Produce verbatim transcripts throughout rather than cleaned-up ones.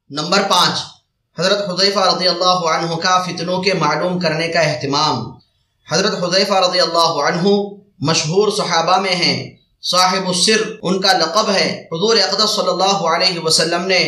Number پانچ، حضرت حذیفہ رضی اللہ عنہ کا فتنوں کے معلوم کرنے کا اہتمام۔ حضرت حذیفہ رضی اللہ عنہ مشہور صحابہ میں ہیں، صاحب السر ان کا لقب ہے۔ حضور اقدس صلی اللہ علیہ وسلم نے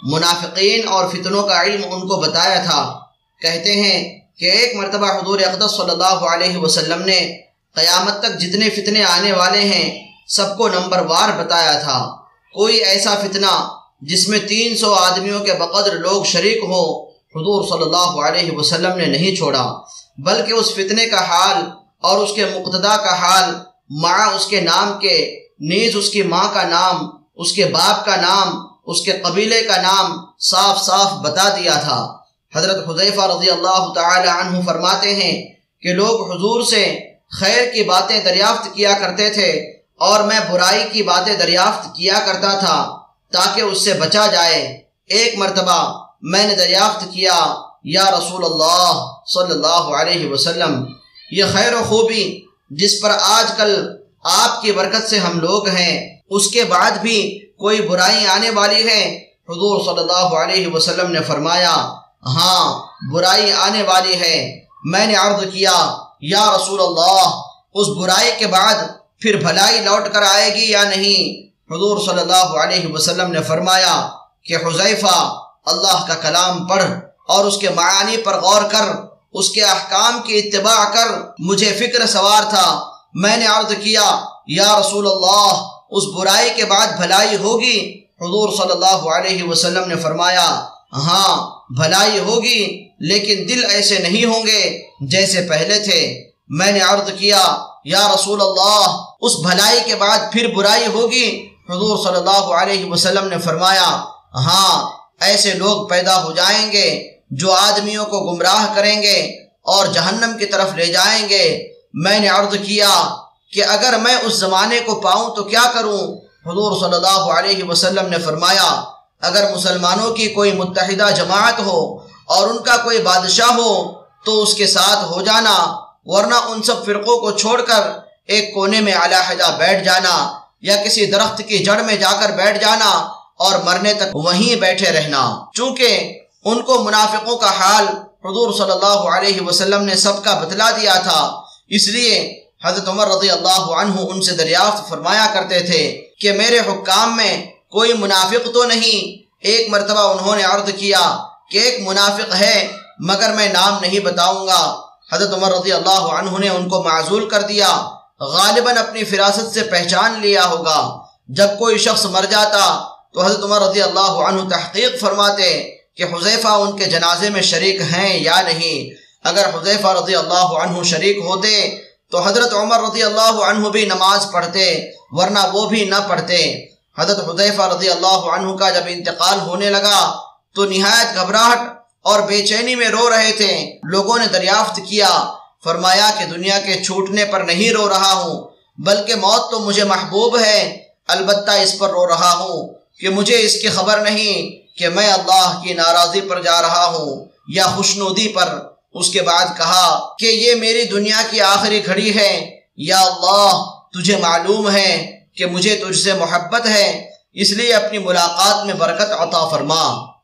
منافقین اور فتنوں کا علم ان کو بتایا تھا۔ کہتے ہیں کہ ایک مرتبہ حضور اقدس صلی اللہ علیہ وسلم نے قیامت تک جتنے فتنے آنے والے ہیں سب کو نمبر وار بتایا تھا۔ کوئی ایسا فتنہ جس میں تین سو آدمیوں کے بقدر لوگ شریک ہوں حضور صلی اللہ علیہ وسلم نے نہیں چھوڑا، بلکہ اس فتنے کا حال اور اس کے مقتدا کا حال مع اس کے نام کے، نیز اس کی ماں کا نام، اس کے باپ کا نام، اس کے قبیلے کا نام صاف صاف بتا دیا تھا۔ حضرت حذیفہ رضی اللہ تعالی عنہ فرماتے ہیں کہ لوگ حضور سے خیر کی باتیں دریافت کیا کرتے تھے اور میں برائی کی باتیں دریافت کیا کرتا تھا تاکہ اس سے بچا جائے۔ ایک مرتبہ میں نے دریافت کیا، یا رسول اللہ صلی اللہ علیہ وسلم، یہ خیر و خوبی جس پر آج کل آپ کی برکت سے ہم لوگ ہیں، اس کے بعد بھی کوئی برائی آنے والی ہے؟ حضور صلی اللہ علیہ وسلم نے فرمایا، ہاں برائی آنے والی ہے۔ میں نے عرض کیا، یا رسول اللہ، اس برائی کے بعد پھر بھلائی لوٹ کر آئے گی یا نہیں؟ حضور صلی اللہ علیہ وسلم نے فرمایا کہ حذیفہ، اللہ کا کلام پڑھ اور اس کے معانی پر غور کر، اس کے احکام کی اتباع کر۔ مجھے فکر سوار تھا، میں نے عرض کیا، یا رسول اللہ، اس برائی کے بعد بھلائی ہوگی؟ حضور صلی اللہ علیہ وسلم نے فرمایا، ہاں بھلائی ہوگی، لیکن دل ایسے نہیں ہوں گے جیسے پہلے تھے۔ میں نے عرض کیا، یا رسول اللہ، اس بھلائی کے بعد پھر برائی ہوگی؟ حضور صلی اللہ علیہ وسلم نے فرمایا، ہاں ایسے لوگ پیدا ہو جائیں گے جو آدمیوں کو گمراہ کریں گے اور جہنم کی طرف لے جائیں گے۔ میں نے عرض کیا کہ اگر میں اس زمانے کو پاؤں تو کیا کروں؟ حضور صلی اللہ علیہ وسلم نے فرمایا، اگر مسلمانوں کی کوئی متحدہ جماعت ہو اور ان کا کوئی بادشاہ ہو تو اس کے ساتھ ہو جانا، ورنہ ان سب فرقوں کو چھوڑ کر ایک کونے میں علیحدہ بیٹھ جانا یا کسی درخت کی جڑ میں جا کر بیٹھ جانا اور مرنے تک وہیں بیٹھے رہنا۔ چونکہ ان کو منافقوں کا حال حضور صلی اللہ علیہ وسلم نے سب کا بتلا دیا تھا، اس لیے حضرت عمر رضی اللہ عنہ ان سے دریافت فرمایا کرتے تھے کہ میرے حکام میں کوئی منافق تو نہیں؟ ایک مرتبہ انہوں نے عرض کیا کہ ایک منافق ہے مگر میں نام نہیں بتاؤں گا۔ حضرت عمر رضی اللہ عنہ نے ان کو معزول کر دیا، غالباً اپنی فراست سے پہچان لیا ہوگا۔ جب کوئی شخص مر جاتا تو حضرت عمر رضی اللہ عنہ تحقیق فرماتے کہ حذیفہ ان کے جنازے میں شریک ہیں یا نہیں۔ اگر حذیفہ رضی اللہ عنہ شریک ہوتے تو حضرت عمر رضی اللہ عنہ بھی نماز پڑھتے، ورنہ وہ بھی نہ پڑھتے۔ حضرت حذیفہ رضی اللہ عنہ کا جب انتقال ہونے لگا تو نہایت گھبراہٹ اور بے چینی میں رو رہے تھے۔ لوگوں نے دریافت کیا، فرمایا کہ دنیا کے چھوٹنے پر نہیں رو رہا ہوں، بلکہ موت تو مجھے محبوب ہے، البتہ اس پر رو رہا ہوں کہ مجھے اس کی خبر نہیں کہ میں اللہ کی ناراضی پر جا رہا ہوں یا خوشنودی پر۔ اس کے بعد کہا کہ یہ میری دنیا کی آخری گھڑی ہے، یا اللہ تجھے معلوم ہے کہ مجھے تجھ سے محبت ہے، اس لیے اپنی ملاقات میں برکت عطا فرما۔